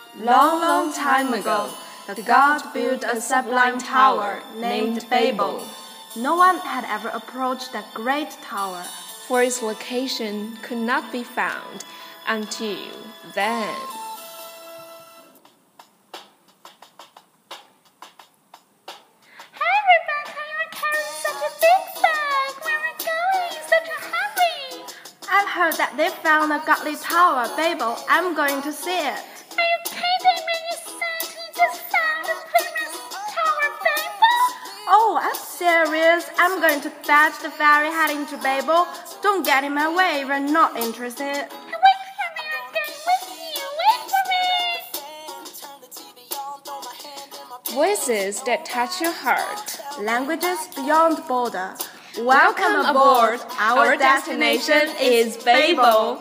Long, long time ago, the god built a sublime tower named Babel. No one had ever approached that great tower, for its location could not be found until then. Hey Rebecca, you're carrying such a big bag. Where are you going? Such a hurry. I've heard that they found a godly tower, Babel. I'm going to see it. Are you kidding me? You said you just found the famous tower, Babel? Oh, I'm serious. I'm going to fetch the ferry heading to Babel. Don't get in my way if you're not interested. Wait for me, I'm going with you. Wait for me. Voices that touch your heart. Languages beyond border. Welcome aboard. Our destination is Babel.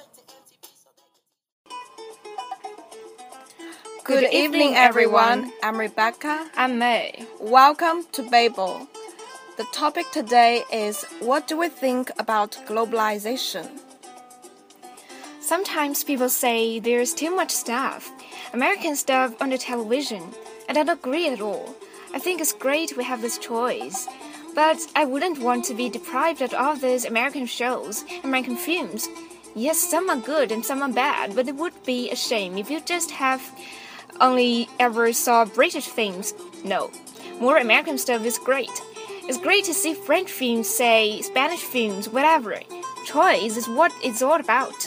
Good evening, everyone. I'm Rebecca. I'm May. Welcome to Babel. The topic today is, what do we think about globalization? Sometimes people say there's too much stuff, American stuff on the television. I don't agree at all. I think it's great we have this choice. But I wouldn't want to be deprived of all these American shows, American films. Yes, some are good and some are bad, but it would be a shame if you just have only ever saw British films. No, more American stuff is great. It's great to see French films, say Spanish films, whatever. Choice is what it's all about.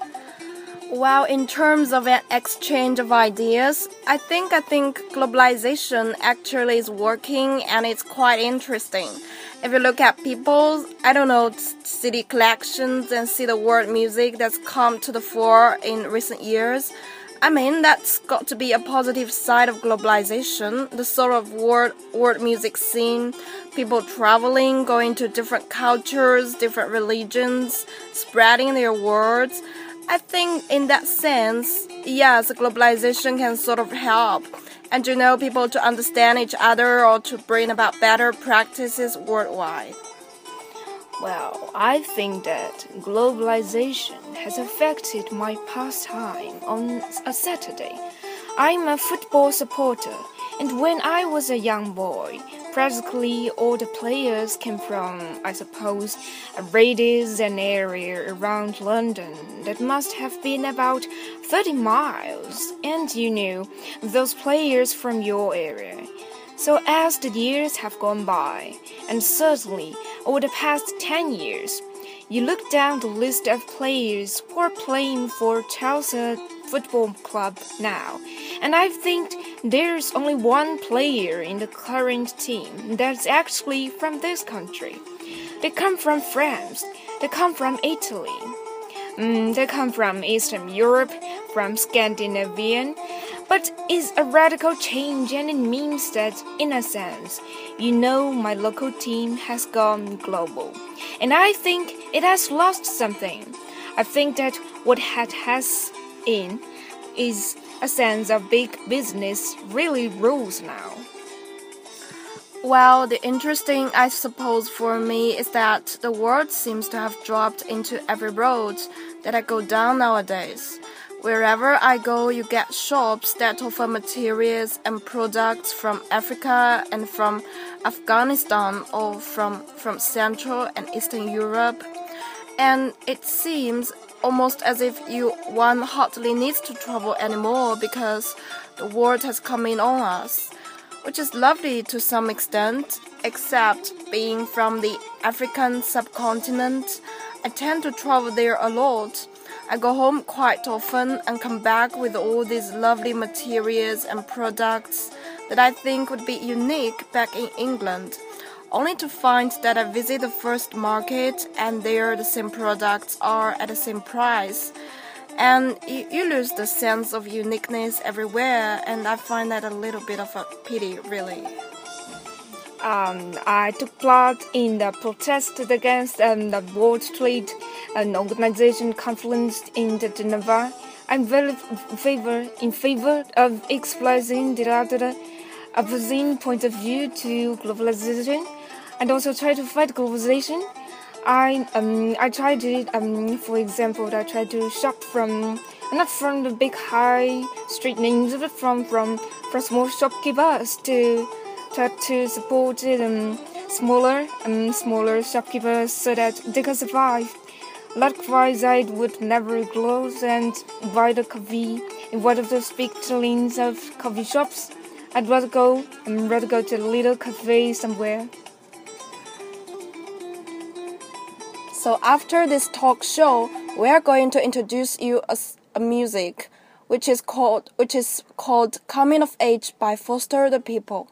Well, in terms of an exchange of ideas, I think globalization actually is working and it's quite interesting. If you look at people's, CD collections and see the world music that's come to the fore in recent years, that's got to be a positive side of globalization, the sort of world music scene, people traveling, going to different cultures, different religions, spreading their words. I think in that sense, yes, globalization can sort of help and people to understand each other or to bring about better practices worldwide. Well, I think that globalization has affected my pastime on a Saturday. I'm a football supporter, and when I was a young boy, practically all the players came from, I suppose, a radius and area around London that must have been about 30 miles, and those players from your area. So as the years have gone by, and certainly over the past 10 years, you look down the list of players who are playing for Chelsea Football Club now, and I think there's only one player in the current team that's actually from this country. They come from France, they come from Italy, they come from Eastern Europe, from Scandinavian, but it's a radical change, and it means that, in a sense, my local team has gone global. And I think it has lost something. I think that what has in is a sense of big business really rules now. Well, the interesting, I suppose, for me is that the word seems to have dropped into every road that I go down nowadays. Wherever I go, you get shops that offer materials and products from Africa and from Afghanistan or from Central and Eastern Europe. And it seems almost as if one hardly needs to travel anymore because the world has come in on us, which is lovely to some extent, except being from the African subcontinent, I tend to travel there a lot. I go home quite often and come back with all these lovely materials and products that I think would be unique back in England, only to find that I visit the first market and there the same products are at the same price. And you lose the sense of uniqueness everywhere, and I find that a little bit of a pity, really. I took part in the protest against the World Trade Organization conference in Geneva. I'm very in favor of expressing the opposing point of view to globalization, and also try to fight globalization. I try to for example, I try to shop from not from the big high street names, but from small shopkeepers to try to support smaller shopkeepers so that they can survive. Likewise, I would never close and buy the coffee in one of those big chains of coffee shops. I'd rather go to a little cafe somewhere. So after this talk show, we are going to introduce you a music, which is called Coming of Age by Foster the People.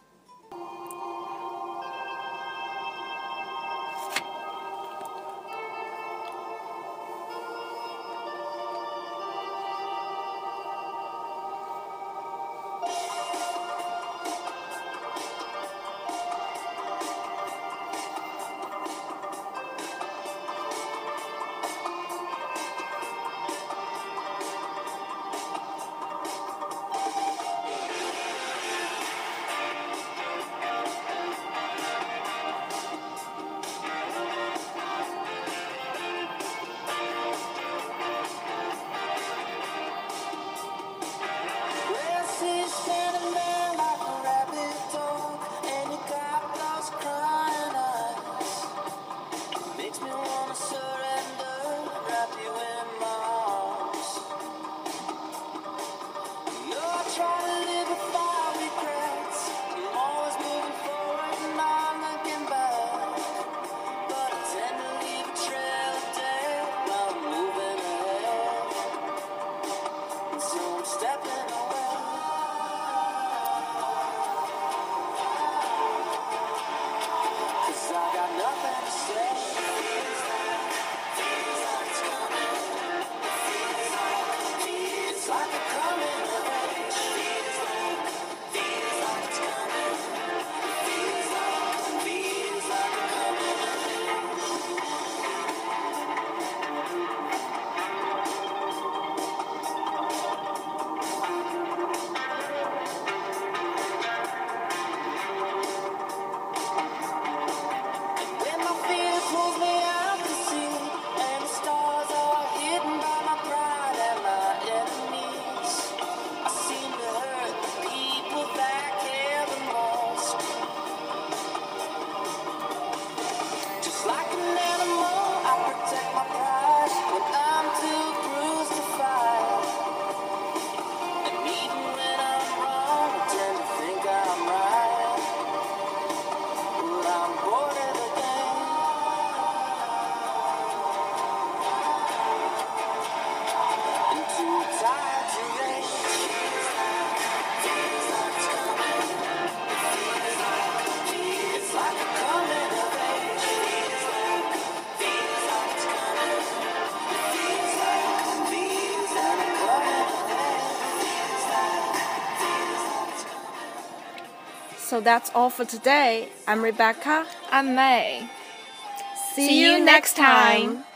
So that's all for today. I'm Rebecca. I'm May. See you next time.